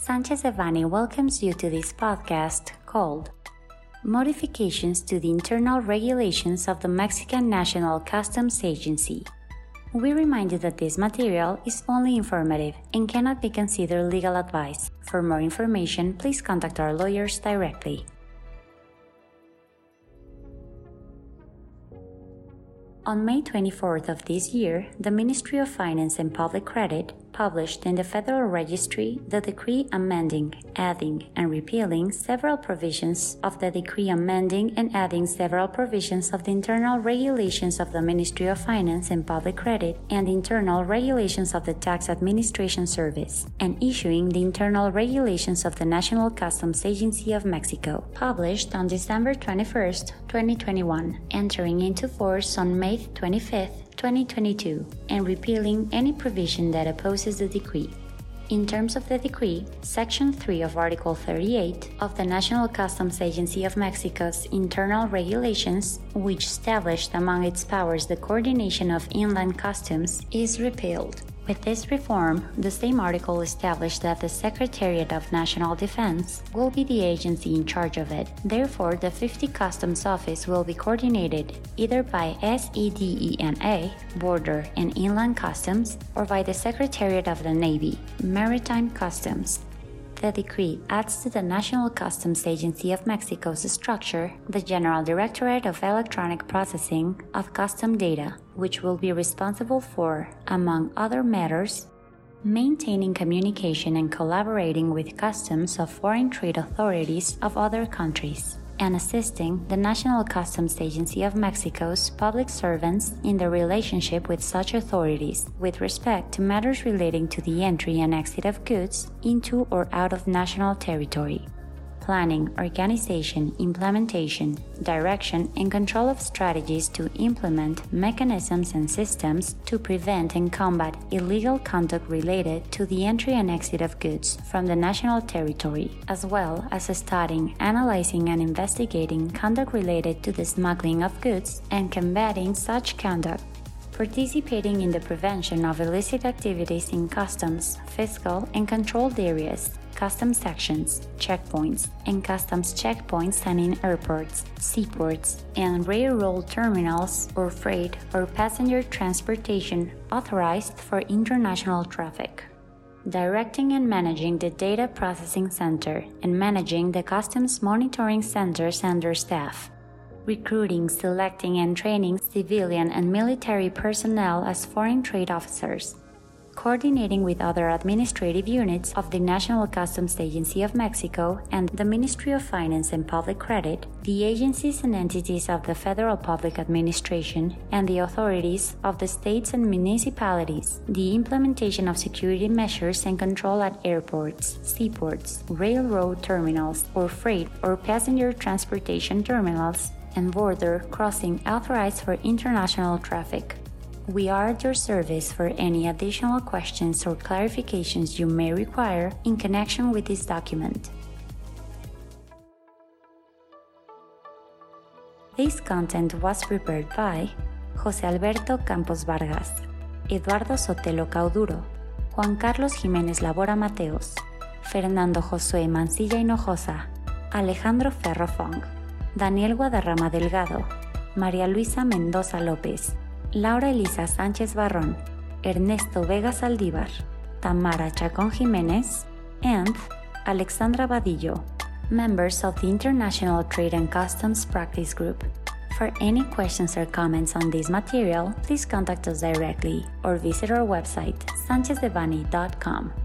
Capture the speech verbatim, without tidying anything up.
Sanchez Devanny welcomes you to this podcast called Modifications to the Internal Regulations of the Mexican National Customs Agency. We remind you that this material is only informative and cannot be considered legal advice. For more information, please contact our lawyers directly. On May twenty-fourth of this year, the Ministry of Finance and Public Credit published in the Federal Registry the decree amending, adding, and repealing several provisions of the decree amending and adding several provisions of the internal regulations of the Ministry of Finance and Public Credit and internal regulations of the Tax Administration Service, and issuing the internal regulations of the National Customs Agency of Mexico, published on December twenty-first, twenty twenty-one, entering into force on May twenty-fifth, twenty twenty-two, and repealing any provision that opposes the decree. In terms of the decree, Section three of Article thirty-eight of the National Customs Agency of Mexico's internal regulations, which established among its powers the coordination of inland customs, is repealed. With this reform, the same article established that the Secretariat of National Defense will be the agency in charge of it. Therefore, the fifty Customs Office will be coordinated either by SEDENA, Border and Inland Customs, or by the Secretariat of the Navy, Maritime Customs. The decree adds to the National Customs Agency of Mexico's structure the General Directorate of Electronic Processing of Custom Data, which will be responsible for, among other matters, maintaining communication and collaborating with customs of foreign trade authorities of other countries, and assisting the National Customs Agency of Mexico's public servants in their relationship with such authorities with respect to matters relating to the entry and exit of goods into or out of national territory. Planning, organization, implementation, direction, and control of strategies to implement mechanisms and systems to prevent and combat illegal conduct related to the entry and exit of goods from the national territory, as well as studying, analyzing, and investigating conduct related to the smuggling of goods and combating such conduct. Participating in the prevention of illicit activities in customs, fiscal, and controlled areas, customs sections, checkpoints, and customs checkpoints and in airports, seaports, and railroad terminals or freight or passenger transportation authorized for international traffic. Directing and managing the Data Processing Center and managing the Customs Monitoring Centers and their staff. Recruiting, selecting, and training civilian and military personnel as foreign trade officers. Coordinating with other administrative units of the National Customs Agency of Mexico and the Ministry of Finance and Public Credit, the agencies and entities of the Federal Public Administration, and the authorities of the states and municipalities, the implementation of security measures and control at airports, seaports, railroad terminals, or freight or passenger transportation terminals, and border crossing authorized for international traffic. We are at your service for any additional questions or clarifications you may require in connection with this document. This content was prepared by José Alberto Campos Vargas, Eduardo Sotelo Cauduro, Juan Carlos Jiménez Labora Mateos, Fernando Josué Mancilla Hinojosa, Alejandro Ferro Fong, Daniel Guadarrama Delgado, María Luisa Mendoza López, Laura Elisa Sánchez Barrón, Ernesto Vega Saldívar, Tamara Chacón Jiménez, and Alexandra Vadillo, members of the International Trade and Customs Practice Group. For any questions or comments on this material, please contact us directly or visit our website, sanchez devanny dot com.